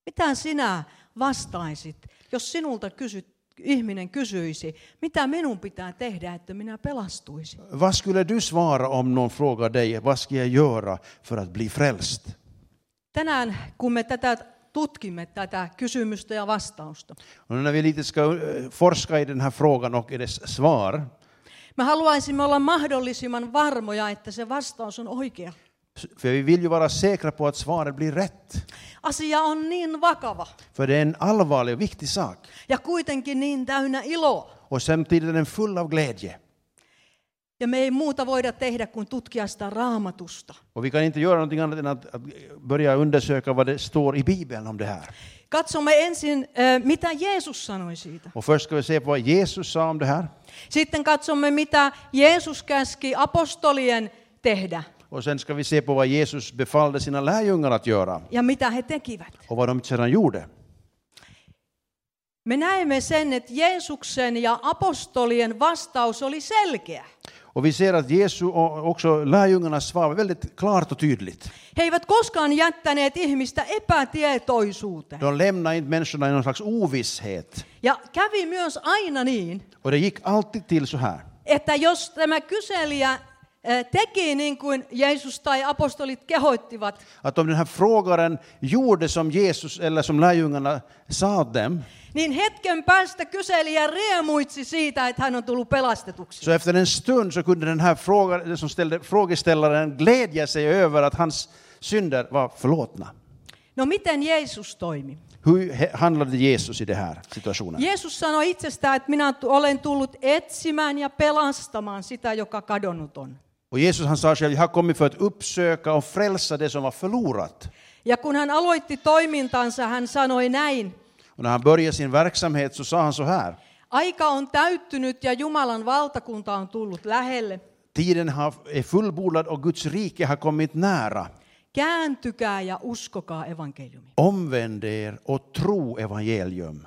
Mitä sinä vastaisit, jos sinulta ihminen kysyisi, mitä minun pitää tehdä, että minä pelastuisin? Vad skulle du svara om någon frågar dig, vad ska jag göra för att bli frälst? Tänään, kun me tutkimme tätä kysymystä ja vastausta, Och när vi lite ska forska i den här frågan och i dess svar, me haluaisimme olla mahdollisimman varmoja, että se vastaus on oikea. för vi vill ju vara säkra på att svaret blir rätt. Asia on niin vakava För det är en allvarlig och viktig sak. ja kuitenkin niin täynnä iloa. Och samtidigt är den full av glädje. Ja me ei muuta voida tehdä kuin tutkia sitä Raamatusta. Och vi kan inte göra någonting annat än att börja undersöka vad det står i Bibeln om det här. Katsomme ensin, mitä Jeesus sanoi siitä. Och först ska vi se på vad Jesus sa om det här. Sitten katsomme, mitä Jeesus käski apostolien tehdä Och sen ska vi se på vad Jesus befallde sina lärjungar att göra. ja mitä he tekivät. Och vad de sedan gjorde. Me näemme sen, että Jeesuksen ja apostolien vastaus oli selkeä. Och vi ser att Jesu och också lärjungarnas svar var väldigt klart och tydligt. He eivät koskaan jättäneet ihmistä epätietoisuuteen. De lämnade inte människorna i någon slags ovisshet. Ja kävi myös aina niin, Och det gick alltid till så här. että jos tämä kyselijä teki niin kuin Jeesus tai apostolit kehoittivat, Att om den här frågaren gjorde som Jesus eller som lärjungarna sa dem, niin hetken päästä kyselijä riemuitsi siitä, että hän on tullut pelastetuksi. så efter en stund så kunde den här frågeställaren glädja sig över att hans synder var förlåtna. No miten Jeesus toimi? Hur handlade Jesus i det här situationen? Jeesus sanoi itsestään, että minä olen tullut etsimään ja pelastamaan sitä, joka kadonnut on. Och Jesus han sa själv, jag har kommit för att uppsöka och frälsa det som var förlorat. Ja kun hän aloitti toimintansa, hän sanoi näin. Och när han började sin verksamhet så sa han så här. Aika on täyttynyt ja Jumalan valtakunta on tullut lähelle. Tiden är fullbordad och Guds rike har kommit nära. Kääntykää ja uskokaa evankeliumi. Omvänd er och tro evangelium.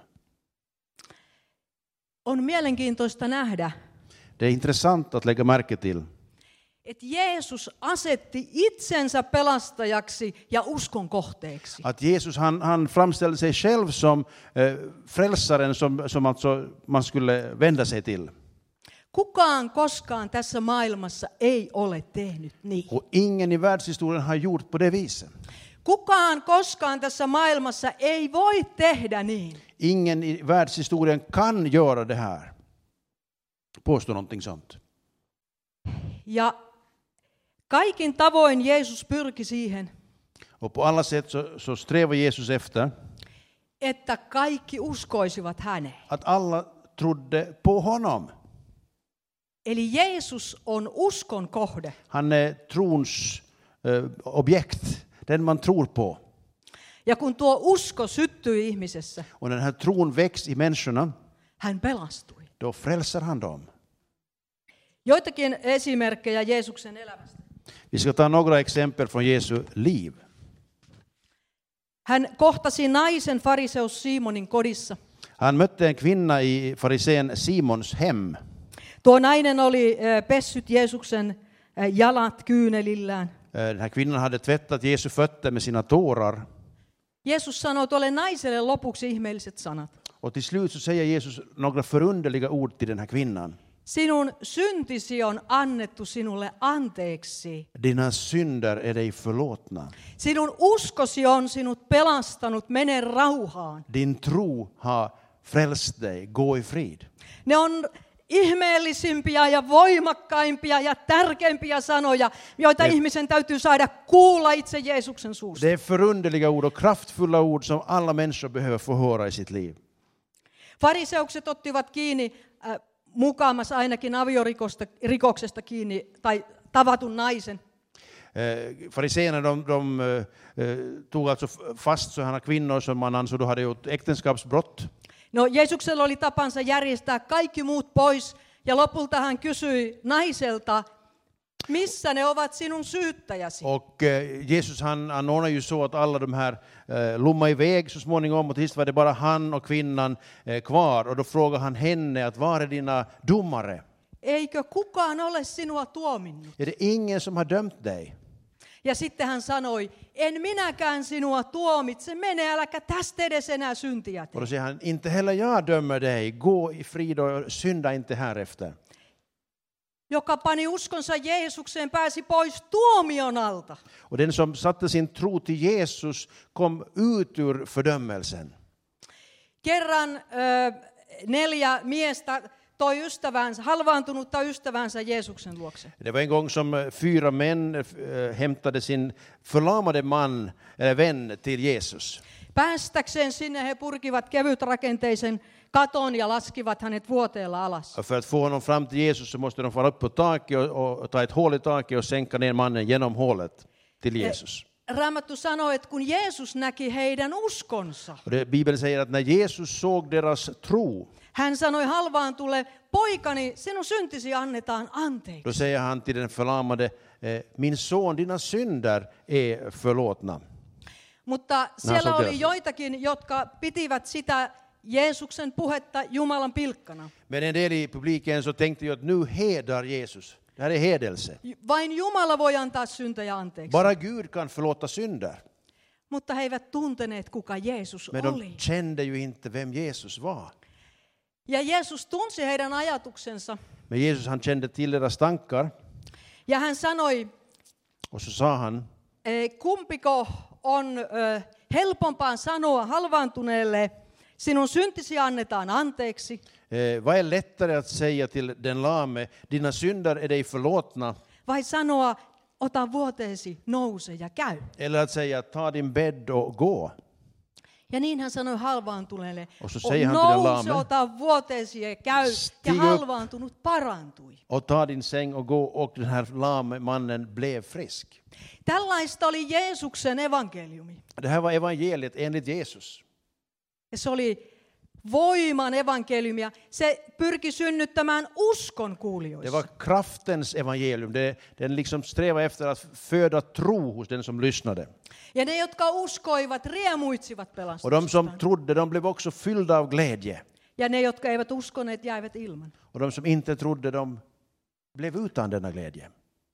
On mielenkiintoista nähdä, Det är intressant att lägga märke till. että Jeesus asetti itsensä pelastajaksi ja uskon kohteeksi. Att Jesus han framställde sig själv som frälsaren som alltså man skulle vända sig till. Kukaan koskaan tässä maailmassa ei ole tehnyt niin. Och ingen i världshistorien har gjort på det viset. Kukaan koskaan tässä maailmassa ei voi tehdä niin. Ingen i världshistorien kan göra det här. Påstå någonting sånt. Ja kaikin tavoin Jeesus pyrki siihen, Och på alla sätt så strävar Jesus efter että kaikki uskoisivat häneen. att alla trodde på honom. Eli Jeesus on uskon kohde. Han är trons objekt, den man tror på. Ja kun tuo usko syttyi ihmisessä, Och när den här tron väcks i människorna, hän pelastui. då frälser han dem. Joitakin esimerkkejä Jeesuksen elämästä. Vi ska ta några exempel från Jesu liv. Hän kohtasi naisen fariseus Simonin kodissa. Han mötte en kvinna i farisén Simons hem. Tuo nainen oli pessyt Jeesuksen jalat kyynelillään. Den här kvinnan hade tvättat Jesu fötter med sina tårar. Jeesus sanoi tuolle naiselle lopuksi ihmeelliset sanat. Och till slut så säger Jesus några förunderliga ord till den här kvinnan. Sinun syntisi on annettu sinulle anteeksi. Dina synder är dig förlåtna. Sinun uskosi on sinut pelastanut, mene rauhaan. Din tro har frälst dig, gå i frid. Ne on ihmeellisimpiä ja voimakkaimpia ja tärkeimpiä sanoja, joita ihmisen täytyy saada kuulla itse Jeesuksen suusta. Det är förunderliga ord och kraftfulla ord som alla människor behöver få höra i sitt liv. Fariseukset ottivat kiinni mukaamassa ainakin aviorikoksesta kiinni tai tavatun naisen. Fariséerna de tog alltså fast sådana kvinnor som man ansåg hade gjort äktenskapsbrott. No Jeesuksella oli tapansa järjestää kaikki muut pois ja lopulta hän kysyi naiselta, missä ne ovat sinun syyttäjäsi? Och Jesus han ordnade ju så att alla de här lommade iväg så småningom och till sist var det bara han och kvinnan kvar. Och då frågade han henne att var är dina domare? Eikö kukaan ole sinua tuominnut? Är det ingen som har dömt dig? Ja sitten hän sanoi, en minäkään sinua tuomitse, mene äläkä tästä edes enää syntiä tee. Och då säger han, inte heller jag dömer dig, gå i frid och synda inte härefter. Joka pani uskonsa Jeesukseen, pääsi pois tuomion alta. Och den som satte sin tro till Jesus kom ut ur fördömelsen. Kerran 4 miestä toi ystävänsä, halvaantunutta ystävänsä Jeesuksen luokse. Det var en gång som 4 män hämtade sin förlamade man eller vän till Jesus. Päästäkseen sinne he purkivat kevytrakenteisen katon ja laskivat hänet vuoteella alas. Och för att få honom fram till Jesus så måste de fara upp på taket och ta ett hål i taket och sänka ner mannen genom hålet till Jesus. Raamattu sanoo, että kun Jeesus näki heidän uskonsa, Och Bibeln säger att när Jesus såg deras tro, hän sanoi halvaantulle, poikani, sinun syntisi annetaan anteeksi. då säger han till den förlamade, min son, dina synder är förlåtna. Mutta siellä oli joitakin, jotka pitivät sitä Jeesuksen puhetta Jumalan pilkkana. Men en del i publiken så tänkte ju att nu hedrar Jesus. Det här är hedelse. Vain Jumala voi antaa syntejä anteeksi. Bara Gud kan förlåta synder. Mutta he eivät tunteneet, kuka Jeesus Men de oli. kände ju inte vem Jesus var. Ja Jeesus tunsi heidän ajatuksensa. Men Jesus, han kände till deras tankar. Ja hän sanoi, Och så sa han, kumpiko on helpompaa sanoa halvaantuneelle, sinun syntisi annetaan anteeksi. vad är lättare att säga till den lame, dina synder är dig förlåtna? Vai sanoa, ota vuoteesi, nouse ja käy. Eller att säga, ta din bädd och gå. Ja niin hän sanoi halvaantuneelle, nouse, ota vuoteesi ja käy. Ja halvaantunut parantui. Och ta din säng och gå, och den här lame mannen blev frisk. Tällaista oli Jeesuksen evankeliumi. Det här var evangeliet enligt Jesus. Ja se oli voiman evankeliumia. Se pyrki synnyttämään uskon Det kuulijoissa. var kraftens evangelium. Den liksom strävade efter att föda tro hos den som lyssnade. Ja ne, jotka uskoivat, riemuitsivat Och de pelastuksestaan. som trodde, de blev också fyllda av glädje. Ja ne, jotka eivät uskoneet, jäivät ilman. Och de som inte trodde, de blev utan denna glädje.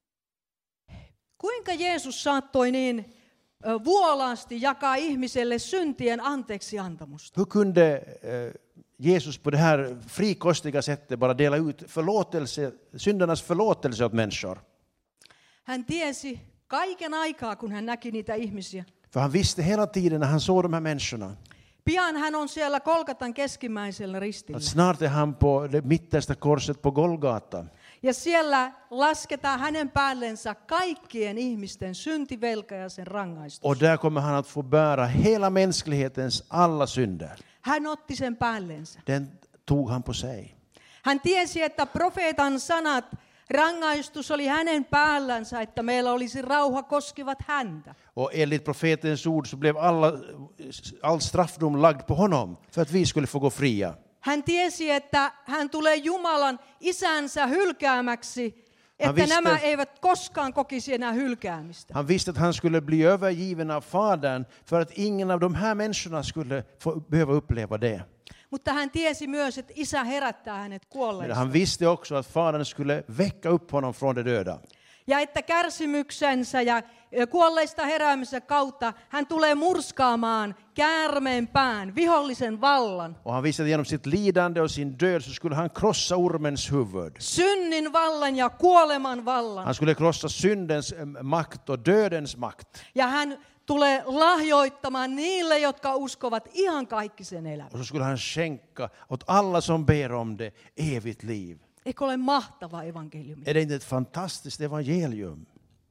Kuinka Jeesus saattoi niin vuolaasti jakaa ihmiselle syntien anteeksiantamusta? Hur kunde Jesus på det här frikostiga sättet bara dela ut syndernas förlåtelse åt människor? Hän tiesi kaiken aikaa, kun hän näki niitä ihmisiä. För han visste hela tiden när han såg de här människorna Pian hän on siellä Golgatan keskimmäisellä ristillä. att snart är han på det mittersta korset på Golgata. Ja siellä lasketaan hänen päällensä kaikkien ihmisten syntivelka ja sen rangaistus. Och där kommer han att få bära hela mänsklighetens alla synder. Hän otti sen päällensä. Den tog han på sig. Hän tiesi, että profeetan sanat, rangaistus oli hänen päällänsä, että meillä olisi rauha, koskivat häntä. Och enligt profetens ord så blev all straffdom lagd på honom för att vi skulle få gå fria. Hän tiesi, että hän tulee Jumalan isänsä hylkäämäksi, että nämä eivät koskaan kokisi enää hylkäämistä. Han visste att han skulle bli övergiven av Fadern för att ingen av de här människorna skulle behöva uppleva det. Mutta hän tiesi myös, että isä herättää hänet Men kuolleista. han visste också att Fadern skulle väcka upp honom från de döda. Ja että kärsimyksensä ja kuolleista heräämisen kautta hän tulee murskaamaan käärmeen pään, vihollisen vallan. Och han visste att genom sitt lidande och sin död så skulle han krossa ormens huvud. Synnin vallan ja kuoleman vallan. Han skulle krossa syndens makt och dödens makt. Ja hän tulee lahjoittamaan niille, jotka uskovat ihan kaikkisen elämän. Och så skulle han skänka åt alla som ber om det evigt liv. Eikö ole mahtava evankeliumi? Är det inte ett fantastiskt evangelium?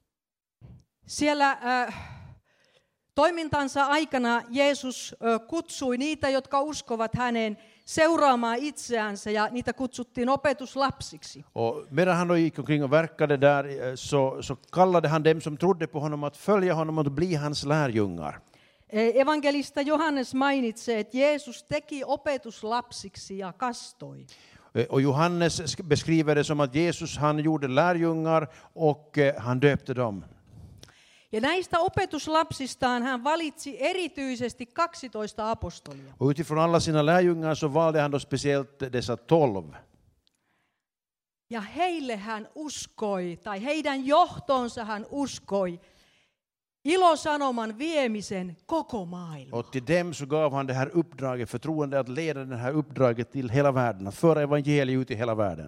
Siellä toimintansa aikana Jeesus kutsui niitä, jotka uskovat häneen, seuraamaan itseänsä, ja niitä kutsuttiin opetuslapsiksi. Och medan han då gick omkring och verkade där så kallade han dem som trodde på honom att följa honom och bli hans lärjungar. Evankelista Johannes mainitsee, että Jeesus teki opetuslapsiksi ja kastoi. Och Johannes beskriver det som att Jesus, han gjorde lärjungar och han döpte dem. Ja näistä opetuslapsistaan hän valitsi erityisesti 12 apostolia. Och utifrån alla sina lärjungar så valde han då speciellt dessa 12. Ja heille hän uskoi, tai heidän johtoonsa hän uskoi, ilosanoman viemisen koko maailma. Och till dem så gav han det här uppdraget, förtroende att leda det här uppdraget till hela världen, att föra evangeliet ut i hela världen.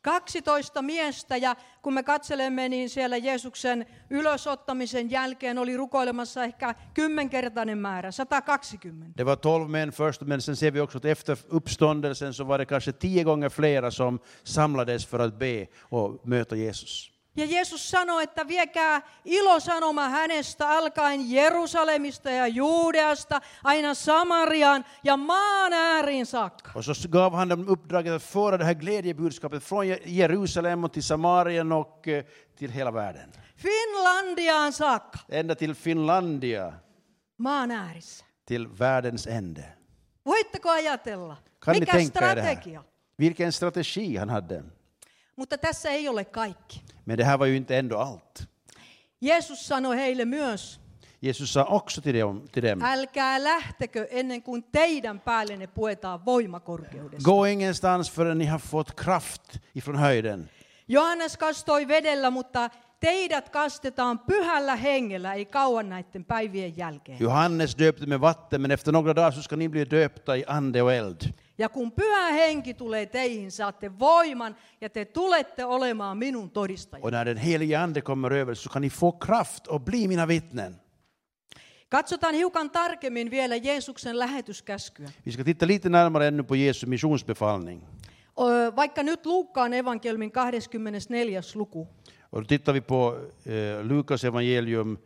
12 miestä, ja kun me katselemme, niin siellä Jeesuksen ylösottamisen jälkeen oli rukoilemassa ehkä 10-kertainen määrä, 120. Det var 12 män först, men sen ser vi också att efter uppståndelsen så var det kanske 10 gånger flera som samlades för att be och möta Jesus. Ja Jeesus sanoi, että viekää ilosanoma hänestä alkaen Jerusalemista ja Juudeasta aina Samariaan ja maan ääriin saakka. Och så gav han dem uppdraget att föra det här glädjebudskapet från Jerusalem och till Samarien och till hela världen. Finlandiaan saakka. Ända till Finlandia, Maan äärissä. till världens ände. Voitteko ajatella? Kan ni Mikä tänka er det strategia? här? Vilken strategi han hade. Mutta tässä ei ole kaikki. Men det här var ju inte ändå allt. Jeesus sanoi heille myös, Jesus sa också till dem. älkää lähtekö ennen kuin teidän päällenne puetaan voimakorkeudessa. Gå ingenstans förrän ni har fått kraft ifrån höjden. Johannes kastoi vedellä, mutta teidät kastetaan pyhällä hengellä, ei kauan näiden päivien jälkeen. Johannes döpte med vatten, men efter några dagar så ska ni bli döpta i ande och eld. Ja kun pyhä henki tulee teihin, saatte voiman ja te tulette olemaan minun todistajani. Och när den helige ande kommer över så kan ni få kraft och bli mina vittnen. Katsotaan hiukan tarkemmin vielä Jeesuksen lähetyskäskyä. Vi ska titta lite närmare ännu på Jesu missionsbefallning. Vaikka nyt Luukkaan evankeliumin 24. luku. Och då tittar vi på Lukas evangelium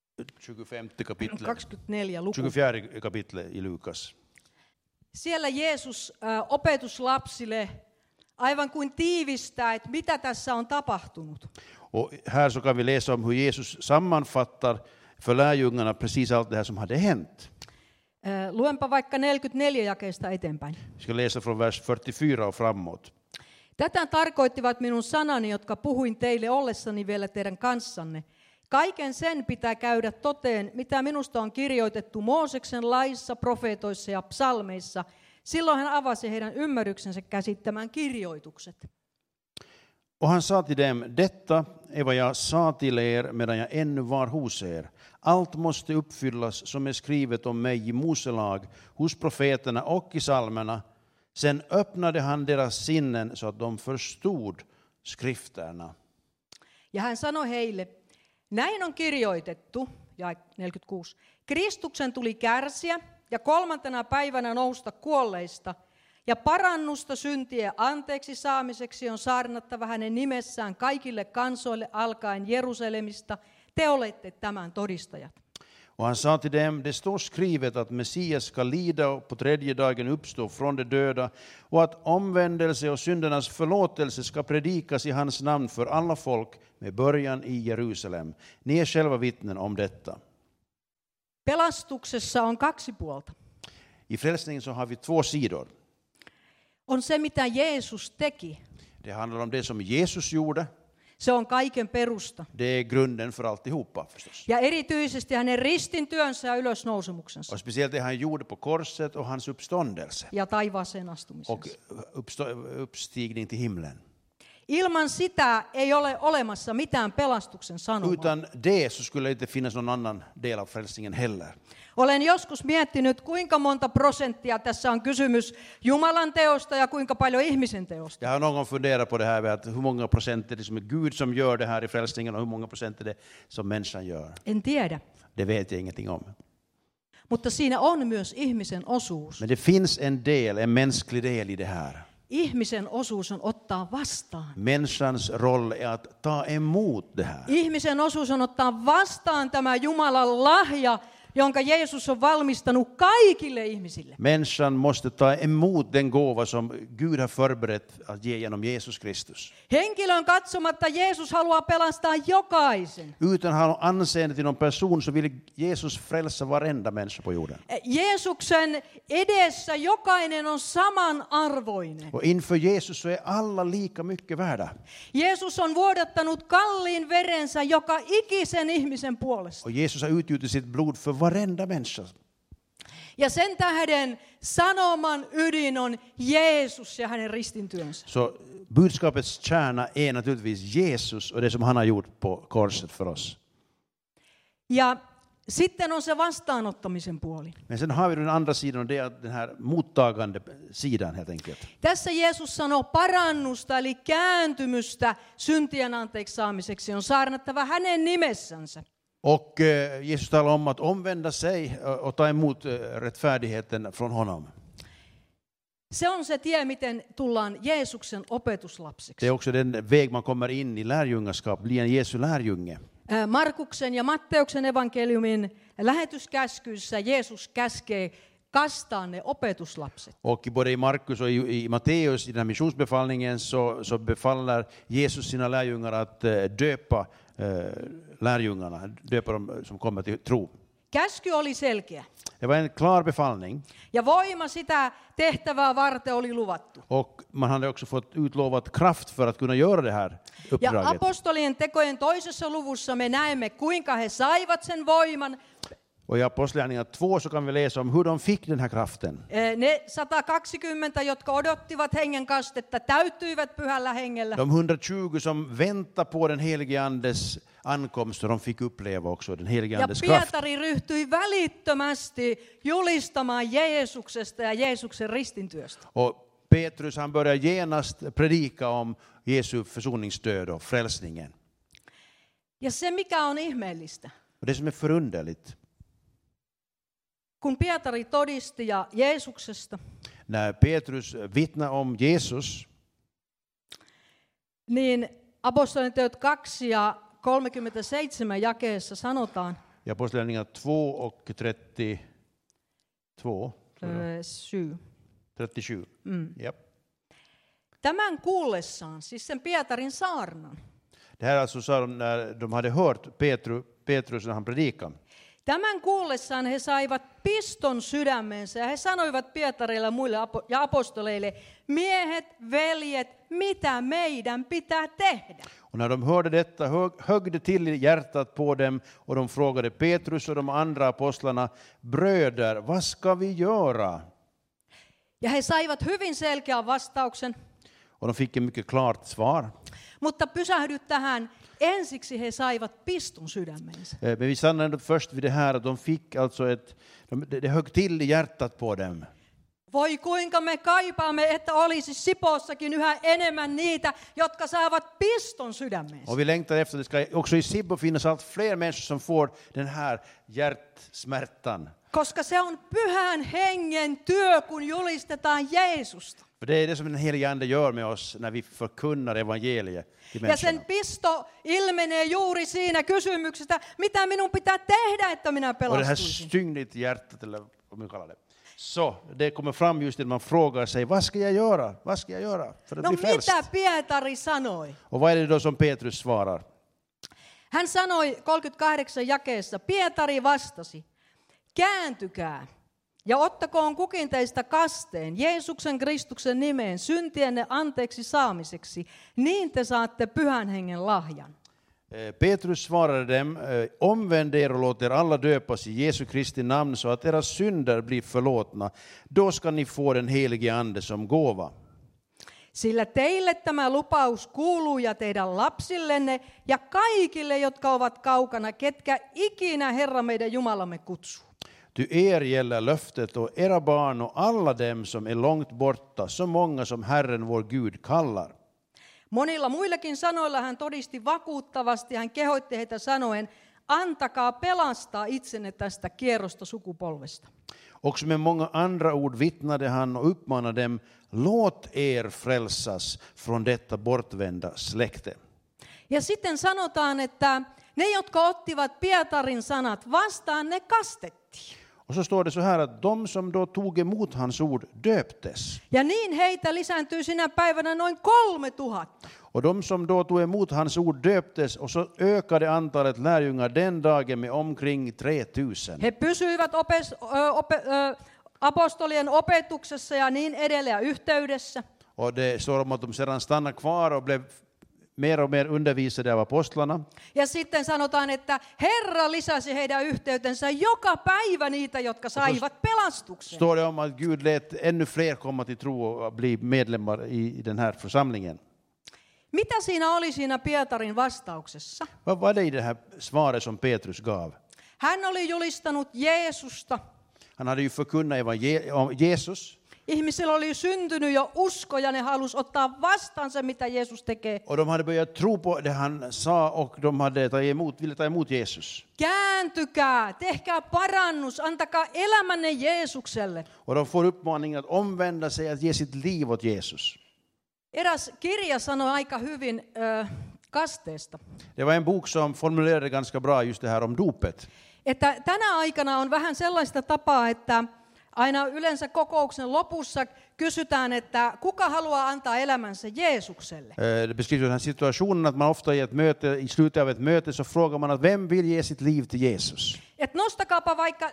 25 kapitel. 24 luku. 24 kapitel i Lukas. Siellä Jeesus opetuslapsille aivan kuin tiivistää, että mitä tässä on tapahtunut. Och här så kan vi läsa om hur Jesus sammanfattar för lärjungarna precis allt det här som hade hänt. Luenpa vaikka 44 jakeesta eteenpäin. Vi ska läsa från vers 44 och framåt. Tätä tarkoittivat minun sanani, jotka puhuin teille ollessani vielä teidän kanssanne. Kaiken sen pitää käydä toteen, mitä minusta on kirjoitettu Mooseksen laissa, profeetoissa ja psalmeissa. Silloin hän avasi heidän ymmärryksensä käsittämään kirjoitukset. Och han sa till dem, detta är vad jag sa till er medan jag ännu var hos er. Allt måste uppfyllas som är skrivet om mig i Mose lag, hos profeterna och i psalmerna. Sen öppnade han deras sinnen så att de förstod skrifterna. Ja hän sanoi heille, näin on kirjoitettu, jae 46, Kristuksen tuli kärsiä ja 3. päivänä nousta kuolleista, ja parannusta syntien anteeksi saamiseksi on saarnattava hänen nimessään kaikille kansoille alkaen Jerusalemista. Te olette tämän todistajat. Och han sa till dem, det står skrivet att Messias ska lida och på 3:e dagen uppstå från de döda och att omvändelse och syndernas förlåtelse ska predikas i hans namn för alla folk med början i Jerusalem. Ni är själva vittnen om detta. Pelastuksessa on 2 puolta. I frälsningen så har vi 2 sidor. On se, mitä Jeesus teki. Det handlar om det som Jesus gjorde. Se on kaiken perusta. Det är grunden för alltihopa förstås. Ja erityisesti hänen ristintyönsä ja ylösnousemuksensa. Och speciellt det han gjorde på korset och hans uppståndelse. Ja taivaaseen astumisensa. Och uppstigning till himlen. Ilman sitä ei ole olemassa mitään pelastuksen sanomaa. Utan det så skulle det inte finnas någon annan del av frälsningen heller. Olen joskus miettinyt, kuinka monta prosenttia tässä on kysymys Jumalan teosta ja kuinka paljon ihmisen teosta. Jag har någon gång funderat på det här, att hur många procent är det som är Gud som gör det här i frälsningen och hur många procent är det som människan gör. En tiedä. Det vet jag ingenting om. Mutta siinä on myös ihmisen osuus. Men det finns en del, en mänsklig del i det här. Ihmisen osuus on ottaa vastaan. Människans roll är att ta emot det här. Ihmisen osuus on ottaa vastaan tämä Jumalan lahja, jonka Jeesus on valmistanut kaikille ihmisille. Människan måste ta emot den gåva som Gud har förberett att ge genom Jesus Kristus. Henkilön katsomatta Jeesus haluaa pelastaa jokaisen. Utan att ha anseende till någon person så vill Jesus frälsa varenda människa på jorden. Jeesuksen edessä jokainen on samanarvoinen. Och inför Jesus så är alla lika mycket värda. Jeesus on vuodattanut kalliin verensä joka ikisen ihmisen puolesta. Och Jesus har utgjutit sitt blod för varenda människa. Ja sen tähden sanoman ydin on Jeesus ja hänen ristintyönsä. Så budskapets kärna är naturligtvis Jesus och det som han har gjort på korset för oss. Ja sitten on se vastaanottamisen puoli. Men sen har vi den andra sidan, och det är den här mottagande sidan helt enkelt. Tässä Jeesus sanoo parannusta eli kääntymystä syntien anteeksi saamiseksi on saarnattava hänen nimessänsä. Och Jesus talar om att omvända sig och ta emot rättfärdigheten från honom. Se on se tie, miten tullaan Jeesuksen opetuslapsiksi. Det är också den väg man kommer in i lärjungaskap, bli en Jesu lärjunge. Markuksen ja Matteuksen evankeliumin lähetyskäskyissä Jeesus käskee kastaa ne opetuslapset. Och både i Markus och i Matteus, i den här missionsbefallningen, så befaller Jesus sina lärjungar att döpa lärjungarna, döpa dem som kommer till tro. Käsky oli selkeä. Det var en klar befallning. Ja voima sitä tehtävää varten oli luvattu. Och man hade också fått utlovat kraft för att kunna göra det här Ja uppdraget. apostolien tekojen toisessa luvussa me näemme, kuinka he saivat sen voiman. Och i Apostlagärningarna 2 så kan vi läsa om hur de fick den här kraften. Ne 120, jotka odottivat hengen kastetta, täyttyivät pyhällä hengellä. De 120 som väntar på den helige Andes ankomst, och de fick uppleva också den helige Ja Andes kraft. Pietari ryhtyi välittömästi julistamaan Jeesuksesta ja Jeesuksen ristintyöstä. Och Petrus, han börjar genast predika om Jesu försoningsdöd och frälsningen. Ja se, mikä on ihmeellistä, Och det som är förunderligt, kun Pietari todisti ja Jeesuksesta, när Petrus vittnar om Jesus, niin apostolien teot 2 ja 37 jakeessa sanotaan, i Apostlagärningarna 2 och 37. Japp. tämän kuullessaan, siis sen Pietarin saarnan, Det här alltså sa de när de hade hört Petrus när han predikade. tämän kuullessaan he saivat piston sydämensä ja he sanoivat Pietarille ja muille ja apostoleille, miehet, veljet, mitä meidän pitää tehdä? Och när de hörde detta högg det till i hjärtat på dem, och de frågade Petrus och de andra apostlarna, bröder, vad ska vi göra? Ja he saivat hyvin selkeän vastauksen, Och de fick en mycket klart svar. mutta pysähdy tähän. Ensiksi he saivat piston sydämensä. Men vi stannar ändå först vid det här att de fick alltså det högg till i hjärtat på dem. Voi kuinka me kaipaamme, että olisi Sipoossakin yhä enemmän niitä, jotka saavat piston sydämensä. Och vi längtar efter, det ska också i Sibbo finnas allt fler människor som får den här hjärtsmärtan. Koska se on pyhän hengen työ, kun julistetaan Jeesusta. För det är det som den helige Ande gör med oss när vi förkunnar evangeliet till Ja sen människorna. pisto ilmenee juuri siinä kysymyksestä, mitä minun pitää tehdä, että minä Och det här pelastuisin. stygnet i hjärtat, eller vad man kallar det. Så det kommer fram just när man frågar sig, vad ska jag göra? Vad ska jag göra för att No bli frälst? mitä Pietari sanoi? Och vad är det då som Petrus svarar? Hän sanoi 38 jakeessa, Pietari vastasi, kääntykää ja ottakoon kukin teistä kasteen Jeesuksen Kristuksen nimeen syntienne anteeksi saamiseksi, niin te saatte pyhän hengen lahjan. Petrus svarade dem, omvänd er och låt er alla döpas i Jesu Kristi namn så att era synder blir förlåtna. Då ska ni få den helige Ande som gåva. Sillä teille tämä lupaus kuuluu ja teidän lapsillenne ja kaikille, jotka ovat kaukana, ketkä ikinä Herra meidän Jumalamme kutsuu. Ty er gäller löftet och era barn och alla dem som är långt borta, så många som Herren vår Gud kallar. Monilla muillakin sanoilla hän todisti vakuuttavasti, hän kehoitti heitä sanoen, antakaa pelastaa itsenne tästä kierrosta sukupolvesta. Också med många andra ord vittnade han och uppmanade dem, låt er frälsas från detta bortvända släkte. Ja sitten sanotaan, että ne, jotka ottivat Pietarin sanat vastaan, ne kastettiin. Och så står det så här att de som då tog emot hans ord döptes. Ja niin heitä lisääntyi sinä päivänä noin 3000. Och de som då tog emot hans ord döptes, och så ökade antalet lärjungar den dagen med omkring 3000. He pysyivät apostolien opetuksessa ja niin edelleen yhteydessä. Och det står om att de sedan stannade kvar och blev mer och mer undervisade av apostlarna. Ja sitten sanotaan, että Herra lisäsi heidän yhteytensä joka päivä niitä, jotka saivat pelastuksen. Står det om att Gud lät ännu fler komma till tro och bli medlemmar i den här församlingen. Mitä siinä oli siinä Pietarin vastauksessa? Vad var det i det här svaret som Petrus gav? Hän oli julistanut Jeesusta. Han hade ju förkunnat om Jesus. Ihmisillä oli syntynyt jo usko ja ne halusi ottaa vastaan se, mitä Jeesus tekee. Och de hade börjat tro på det han sa och de hade ville ta emot Jesus. Kääntykää, tehkää parannus, antakaa elämänne Jeesukselle. Och de får uppmaningen att omvända sig, att ge sitt liv åt Jesus. Eräs kirja sanoi aika hyvin kasteesta. Det var en bok som formulerade ganska bra just det här om dopet. Että tänä aikana on vähän sellaista tapaa, että aina yleensä kokouksen lopussa kysytään, että kuka haluaa antaa elämänsä Jeesukselle. Det beskriver den här situationen att man ofta i ett möte, i slutet av ett möte så frågar man att vem vill ge sitt liv till Jesus? Et nostakaapa vaikka,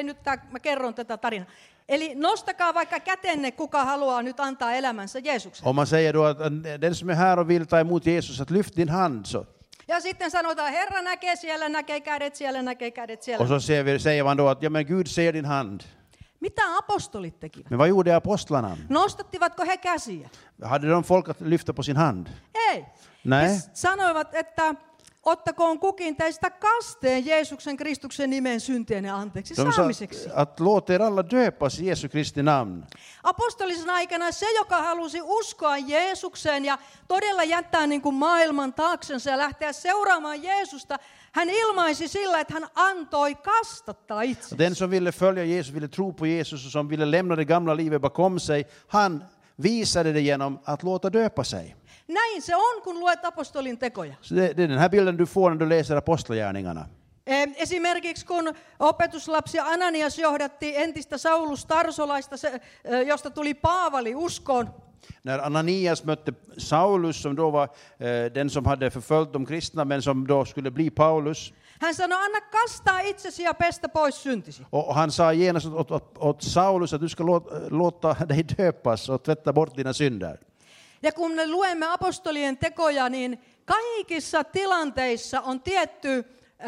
mä kerron tätä tarinaa. Eli nostakaa vaikka kätenne, kuka haluaa nyt antaa elämänsä Jeesukselle. Om man säger då att den som är här och vill ta emot Jesus, att lyft din hand så. Ja sitten sanotaan, Herra näkee siellä, näkee kädet siellä, näkee kädet siellä. Och så säger man då att ja, men Gud ser din hand. Mitä apostolit tekivät? Men vad gjorde apostlarna? Nostattivatko he käsiä? Hade de folk att lyfta på sin hand? Ei. Nej. He sanoivat, että ottakoon kukin teistä kasteen Jeesuksen Kristuksen nimeen syntienne anteeksi saamiseksi. Att låta er alla döpas i Jesu Kristi namn. Apostolisen aikana se, joka halusi uskoa Jeesukseen ja todella jättää niin kuin maailman taaksensa ja lähteä seuraamaan Jeesusta, hän ilmaisi sillä, että hän antoi kastattaa itsensä. Den som ville följa Jesus, ville tro på Jesus och som ville lämna det gamla livet bakom sig, han visade det genom att låta döpa sig. Näin se on, kun luet apostolin tekoja. Så det är den här bilden du får när du läser apostlagärningarna. Esimerkiksi kun opetuslapsi Ananias johdatti entistä Saulus Tarsolaista, josta tuli Paavali uskoon. När Ananias mötte Saulus som då var den som hade förföljt de kristna men som då skulle bli Paulus. Hän sanoi, anna kastaa itsesi ja pestä pois syntisi. Och han sa genast åt Saulus att du ska låta dig döpas och tvätta bort dina synder. Ja kun me luemme apostolien tekoja, niin kaikissa tilanteissa on tietty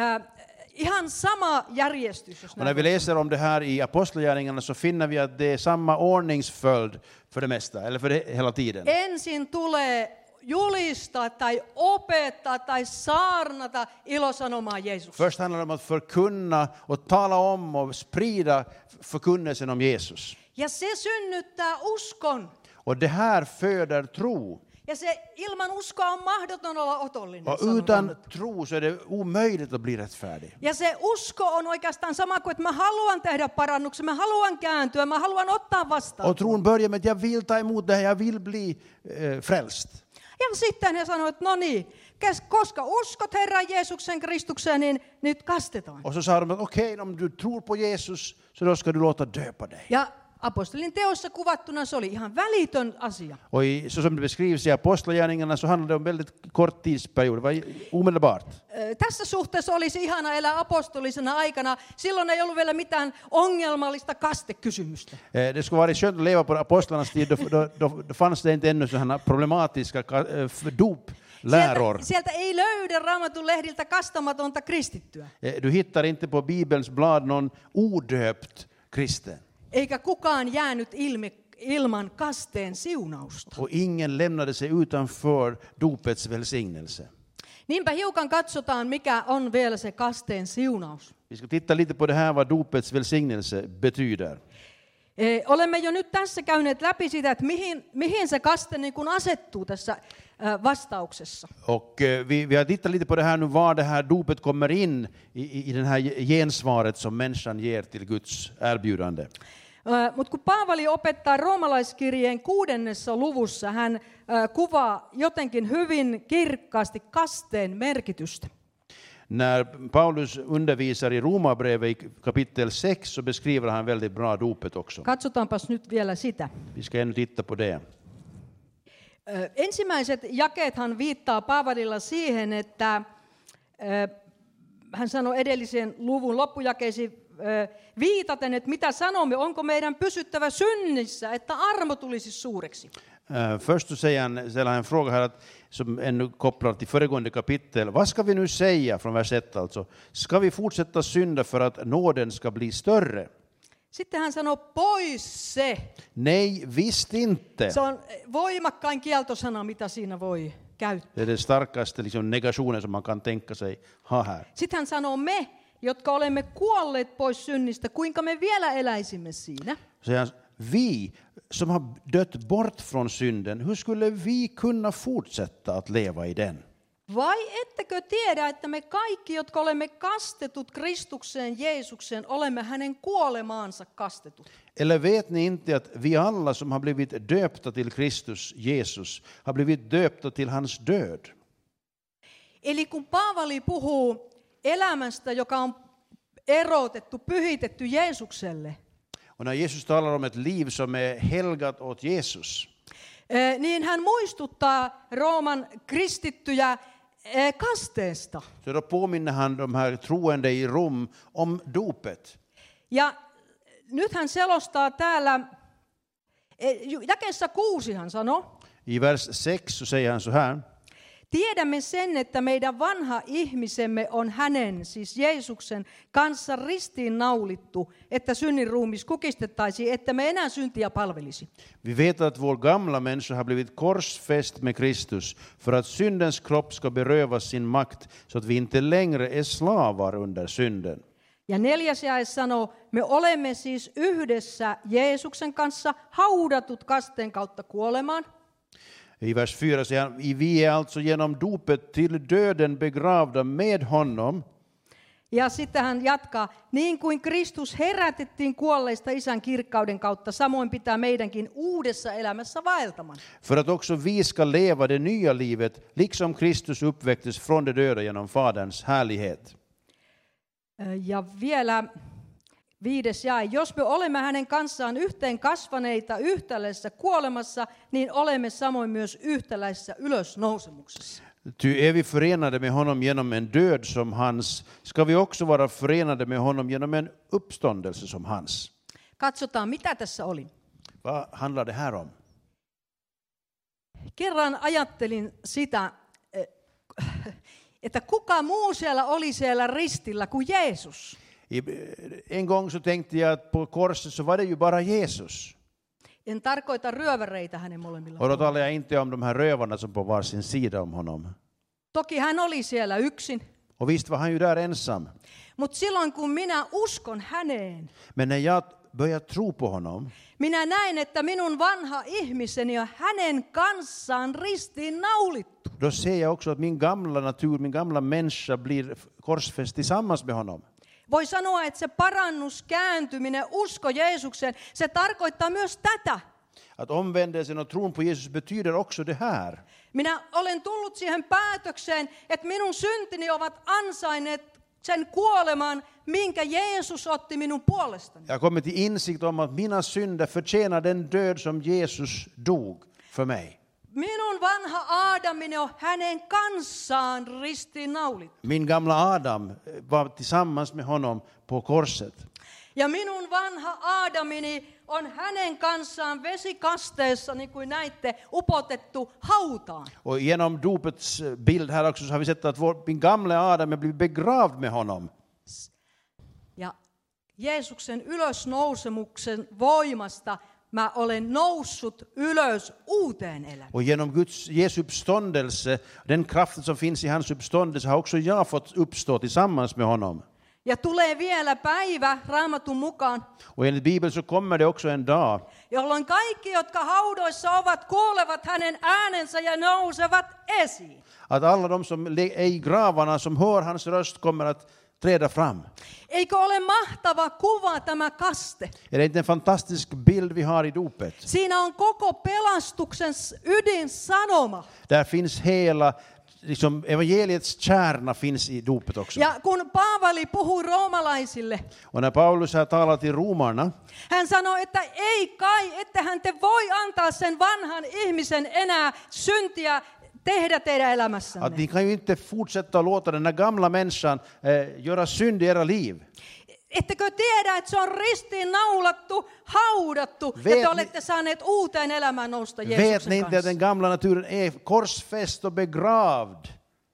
ihan sama järjestys. Och när vi läser om det här i apostlagärningarna så finner vi att det är samma ordningsföljd för det mesta, eller för det hela tiden. Ensin tulee julistaa tai opettaa tai saarnata ilosanomaa Jeesuksesta. Först handlar det om att förkunna och tala om och sprida förkunnelsen om Jesus. Ja se synnyttää uskon. Och det här föder tro. Ja se ilman uskoa on mahdoton olla otollinen. Och utan tro så är det omöjligt att bli rättfärdig. Ja se usko on oikeastaan sama kuin, että mä haluan tehdä parannuksen, mä haluan kääntyä, mä haluan ottaa vastaan. Och tron börjar med att jag vill ta emot det här, jag vill bli frälst. Ja sitten he sanoivat, no niin, koska uskot Herran Jeesuksen Kristukseen, niin nyt kastetaan. Och så sa de att okej, om du tror på Jesus så då ska du låta döpa dig. Ja apostolin teossa kuvattuna se oli ihan välitön asia. Och så som det beskrivs i apostlagärningarna så handlar det om väldigt kort tidsperiod, det var omedelbart. Tässä suhteessa olisi ihana elää apostolisena aikana. Silloin ei ollut vielä mitään ongelmallista kastekysymystä. Det skulle vara skönt att leva på apostlarnas tid, då fanns det inte ännu sådana problematiska dopläror. Sieltä ei löydy Raamatun lehdiltä kastamatonta kristittyä. Du hittar inte på Bibelns blad någon odöpt kristen. Eikä kukaan jäänyt ilman kasteen siunausta. Och ingen lämnade sig utanför dopets välsignelse. Niinpä hiukan katsotaan, mikä on vielä se kasteen siunaus. Vi ska titta lite på det här vad dopets välsignelse betyder. Olemme jo nyt tässä käyneet läpi sitä, että mihin se kaste niin kuin asettuu tässä vastauksessa. Och vi har tittat lite på det här nu, var det här dopet kommer in i den här gensvaret som människan ger till Guds erbjudande. Mutta kun Paavali opettaa roomalaiskirjeen 6. luvussa, hän kuvaa jotenkin hyvin kirkkaasti kasteen merkitystä. När Paulus undervisar i Romarbrevet i kapitel 6 så beskriver han väldigt bra dopet också. Katsotaanpas nyt vielä sitä. Vi ska ännu titta på det. Ensimmäiset jakeethan viittaa Paavalilla siihen, että hän sanoi edellisen luvun loppujakeisiin viitaten, että mitä sanomme, onko meidän pysyttävä synnissä, että armo tulisi suureksi. Först så ställer han en fråga här som ännu kopplar till föregående kapitel. Vad ska vi nu säga från vers 1 alltså? Ska vi fortsätta synda för att nåden ska bli större? Sitten hän sanoo pois se. Nej, visst inte. Se on voimakkain kieltosana, mitä siinä voi käyttää. Det är det starkaste liksom, negationen som man kan tänka sig ha här. Sitten hän sanoo me jotka olemme kuolleet pois synnistä, kuinka me vielä eläisimme siinä? Säger han, vi som har dött bort från synden, hur skulle vi kunna fortsätta att leva i den? Vai ettekö tiedä, että me kaikki, jotka olemme kastetut Kristukseen Jeesukseen, olemme hänen kuolemaansa kastetut? Eller vet ni inte att vi alla som har blivit döpta till Kristus Jesus har blivit döpta till hans död? Eli kun Paavali puhuu elämästä, joka on erotettu, pyhitetty Jeesukselle, Och när Jesus talar om ett liv som är helgat åt Jesus, niin hän muistuttaa Rooman kristittyjä kasteesta. så då påminner han de här troende i Rom om dopet. Ja nyt hän selostaa täällä, jakeessa 6 hän sanoo, I vers 6 så säger han så här. tiedämme sen, että meidän vanha ihmisemme on hänen, siis Jeesuksen, kanssa ristiin naulittu, että synnin ruumis kukistettaisiin, että me enää syntiä palvelisi. Vi vet att vår gamla människa har blivit korsfäst med Kristus för att syndens kropp ska berövas sin makt så att vi inte längre är slavar under synden. Ja 4. jae sanoo, me olemme siis yhdessä Jeesuksen kanssa haudatut kasteen kautta kuolemaan. I vers 4 säger han, vi är alltså genom dopet till döden begravda med honom. Ja sitten hän jatkaa, niin kuin Kristus herätettiin kuolleista Isän kirkkauden kautta, samoin pitää meidänkin uudessa elämässä vaeltaman. För att också vi ska leva det nya livet, liksom Kristus uppväcktes från de döda genom Faderns härlighet. Ja vielä 5. jae, jos me olemme hänen kanssaan yhteen kasvaneita yhtäläisessä kuolemassa, niin olemme samoin myös yhtäläisessä ylösnousemuksessa. Ty är vi förenade med honom genom en död som hans, ska vi också vara förenade med honom genom en uppståndelse som hans. Katsotaan, mitä tässä oli. Vad handlar det här om? Kerran ajattelin sitä, että kuka muu siellä oli siellä ristillä kuin Jeesus. En gång så tänkte jag att på korset så var det ju bara Jesus. En tarkoita ryöväreitä hänen molemmilla. Och då talar jag inte om de här rövarna som på varsin sida om honom. Toki hän oli siellä yksin. Och visst var han ju där ensam. Mutta silloin kun minä uskon häneen, Men när jag börjar tro på honom, minä näen, että minun vanha ihmiseni on hänen kanssaan ristiin naulittu. då ser jag också att min gamla natur, min gamla människa blir korsfäst tillsammans med honom. Voi sanoa, että se parannus, kääntyminen, usko Jeesukseen, se tarkoittaa myös tätä. Att omvändelsen och tron på Jesus betyder också det här. Minä olen tullut siihen päätökseen, että minun syntini ovat ansainneet sen kuoleman, minkä Jeesus otti minun puolestani. Jag har kommit till insikt om att mina synder förtjänar den död som Jesus dog för mig. Minun vanha Aadamini on hänen kanssaan ristiin naulittu. Min gamla Adam var tillsammans med honom på korset. Ja minun vanha Aadamini on hänen kanssaan vesikasteessa, niin kuin näitte, upotettu hautaan. Och genom dopets bild här också så har vi sett att min gamla Adam är blivit begravd med honom. Ja Jeesuksen ylösnousemuksen voimasta mä olen noussut ylös uuteen elämään. Och genom Jesu uppståndelse, den kraften som finns i hans uppståndelse, har också jag fått uppstå tillsammans med honom. Ja tulee vielä päivä Raamatun mukaan, Och enligt Bibeln så kommer det också en dag jolloin kaikki, jotka haudoissa ovat, kuulevat hänen äänensä ja nousevat esiin. att alla de som är i gravarna som hör hans röst kommer att träda fram. Eikö ole mahtava kuva tämä kaste? Är det inte en fantastisk bild vi har i dopet? Siinä on koko pelastuksen ydinsanoma. Där finns hela, liksom evangeliets kärna finns i dopet också. Ja kun Paavali puhui roomalaisille, Och när Paulus här talar till romarna, hän sanoi, että ei kai, ettehän te voi antaa sen vanhan ihmisen enää syntiä tehdä teidän att elämässänne. ni kan ju inte fortsätta låta den här gamla människan göra synd i era liv. Ettekö tiedä, että se on ristiin naulattu, haudattu, ja te olette saaneet uuteen elämään nousta Vet Jeesuksen ni inte att kanssa. den gamla naturen är korsfäst och begravd?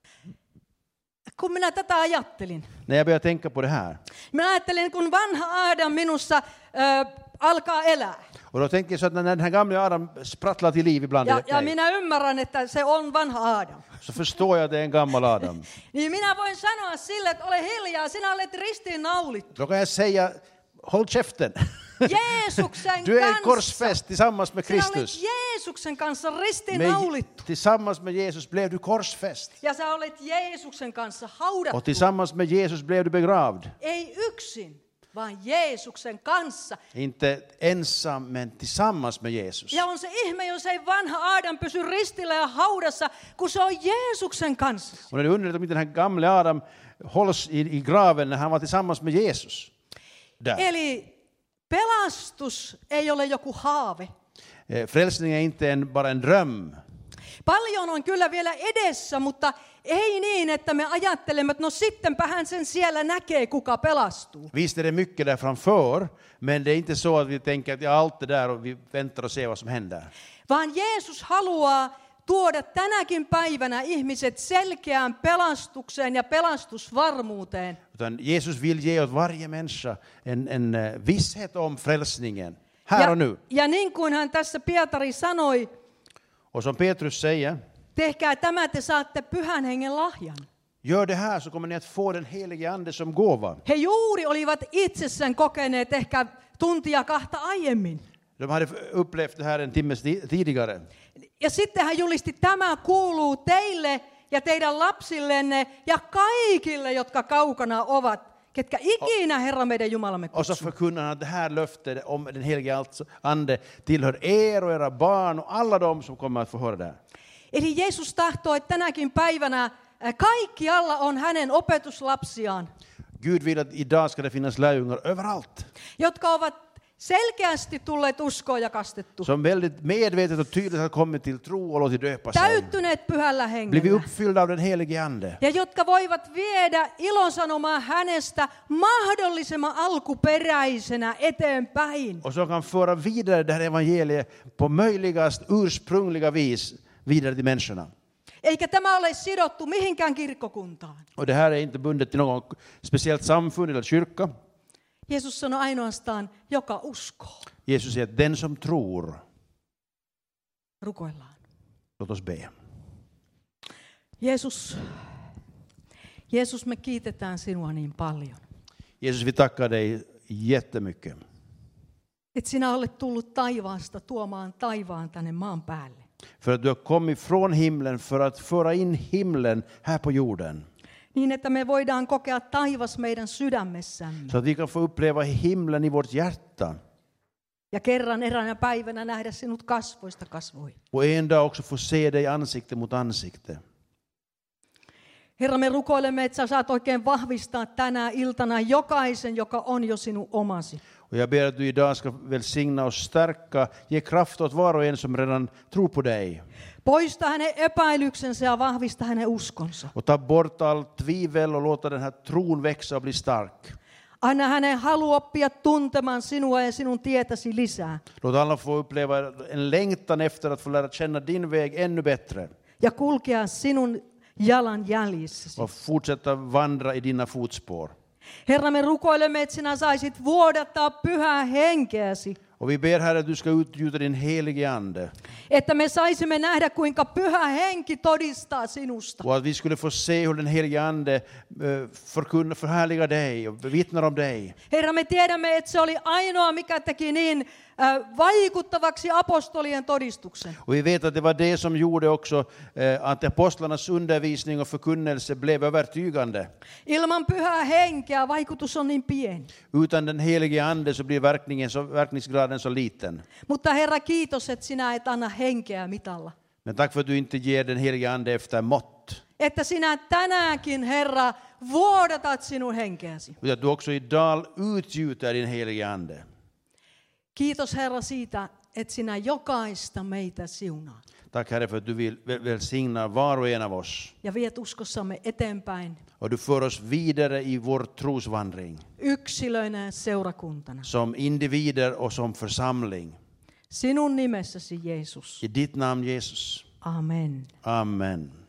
Kun minä tätä ajattelin, När jag börjar tänka på det här. minä ajattelin, kun vanha Aadam minussa alkaa elää. Och då tänker jag så att när den här gamla Adam sprattlar till liv ibland, Ja minä ymmärrän, että se on vanha Adam. så förstår jag att det är en gammal Adam. Niin minä voin sanoa sille, että ole hiljaa, sinä olet ristiin naulittu. Då kan jag säga, håll käften. Jeesuksen Du är kanssa. korsfäst tillsammans med Sinä olet Kristus. Jeesuksen kanssa ristiin naulittu. Tillsammans med Jesus blev du korsfäst. Ja sä olet Jeesuksen kanssa haudattu. Och tillsammans med Jesus blev du begravd. Ei yksin, vaan Jeesuksen kanssa. Inte ensam, men tillsammans med Jesus. Ja on se ihme, jos ei vanha Adam pysy ristillä ja haudassa, kun se on Jeesuksen kanssa. Och när du undrar om inte den här gamla Adam hålls i graven när han var tillsammans med Jesus. Där. Eli pelastus ei ole joku haave. Frälsning är inte bara en dröm. Paljon on kyllä vielä edessä, mutta ei niin, että me ajattelemme, että no sittenpä hän sen siellä näkee, kuka pelastuu. Visst är det mycket där framför, men det är inte så att vi tänker att allt är där och vi väntar och ser vad som händer. Vaan Jeesus haluaa tuoda tänäkin päivänä ihmiset selkeään pelastukseen ja pelastusvarmuuteen. Utan Jesus vill ge åt varje människa en visshet om frälsningen, här och nu. Ja niin kuin hän tässä Pietari sanoi, Och som Petrus säger, tehkää tämä, te saatte Pyhän Hengen lahjan. gör det här så kommer ni att få den helige ande som gåva. He juuri olivat itse sen kokeneet ehkä tuntia kahta aiemmin. De hade upplevt det här en timme tidigare. Ja sitten hän julisti, tämä kuuluu teille ja teidän lapsillenne ja kaikille, jotka kaukana ovat, ketkä ikinä Herra meidän Jumalamme Och så kutsuu. förkunnar han att det här löftet om den helige ande tillhör er och era barn och alla de som kommer att få höra det. Eli Jeesus tahtoo, että tänäkin päivänä kaikkialla on hänen opetuslapsiaan, Gud vill att idag ska det finnas lärjungar överallt. jotka ovat selkeästi tulleet uskoon ja kastettu. Som väldigt medvetet och tydligt har kommit till tro och låtit döpa sig. Täyttyneet Pyhällä Blivit Hengellä. uppfyllda av den helige ande. Ja jotka voivat viedä ilosanomaa hänestä mahdollisimman alkuperäisenä eteenpäin. Och som kan föra vidare det här evangeliet på möjligast ursprungliga vis vidare till människorna. Eikä tämä ole sidottu mihinkään kirkkokuntaan. Och det här är inte bundet till något speciellt samfund eller kyrka. Jeesus sanoi ainoastaan, joka uskoo. Jesus säger att den som tror, Rukoillaan. låt oss be. Jeesus, me kiitetään sinua niin paljon. Jesus, vi tackar dig jättemycket. Että sinä olet tullut taivaasta tuomaan taivaan tänne maan päälle. För att du har kommit från himlen för att föra in himlen här på jorden. Niin, että me voidaan kokea taivas meidän sydämessämme. Så att vi kan få uppleva himlen i vårt hjärta. Ja kerran eräänä päivänä nähdä sinut kasvoista kasvoihin. Och en dag också få se dig ansikte mot ansikte. Herra, me rukoilemme, että sä saat oikein vahvistaa tänä iltana jokaisen, joka on jo sinun omasi. Och jag ber att du idag ska välsigna och stärka, ge kraft åt var och en som redan tror på dig. Poista hänen epäilyksensä ja vahvista hänen uskonsa. Och ta bort all tvivel och låta den här tron växa och bli stark. Anna hänen halu oppia tuntemaan sinua ja sinun tietäsi lisää. Låt alla få uppleva en längtan efter att få lära känna din väg ännu bättre. Ja kulkea sinun jalan jäljissäsi. Och fortsätta vandra i dina fotspår. Herra, me rukoilemme, että sinä saisit vuodattaa pyhää henkeäsi. Och vi ber Herre att du ska utgjuta din helige ande. Että me saisimme nähdä, kuinka pyhä henki todistaa sinusta. Och att vi skulle få se hur den helige ande förhärligar dig och vittnar om dig. Herra, me tiedämme, että se oli ainoa, mikä teki niin vaikuttavaksi apostolien todistuksen. Och vi vet att det var det som gjorde också att apostlarnas undervisning och förkunnelse blev övertygande. Ilman pyhää henkeä vaikutus on niin pieni. Utan den helige ande så blir verkningsgraden så liten. Mutta Herra, kiitos, että sinä et anna henkeä mitalla. Men tack för att du inte ger den helige ande efter mått. Että sinä tänäänkin, Herra, vuodatat sinun henkeäsi. Utan att du också idag utgjuter din helige ande. Kiitos, Herra, siitä, että sinä jokaista meitä siunaat. Tack Herre för att du vill välsigna var och en av oss. Ja viet uskossamme eteenpäin Och du för oss vidare i vår trosvandring. yksilöinä ja seurakuntana. Som individer och som församling. Sinun nimessäsi, Jeesus. I ditt namn Jesus. Amen. Amen.